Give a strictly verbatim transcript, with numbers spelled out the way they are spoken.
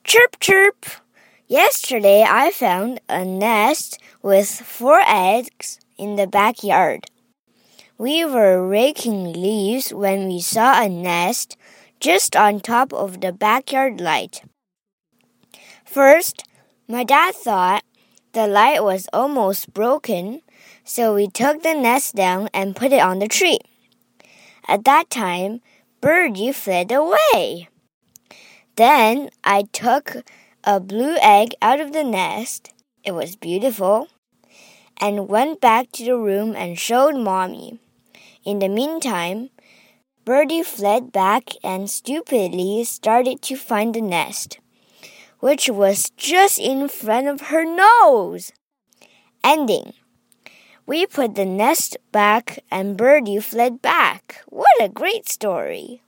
Chirp, chirp! Yesterday I found a nest with four eggs in the backyard. We were raking leaves when we saw a nest just on top of the backyard light. First, my dad thought the light was almost broken, so we took the nest down and put it on the tree. At that time, Birdie fled away. Then I took a blue egg out of the nest. It was beautiful. And went back to the room and showed Mommy. In the meantime, Birdie fled back and stupidly started to find the nest, which was just in front of her nose. Ending. We put the nest back and Birdie fled back. What a great story!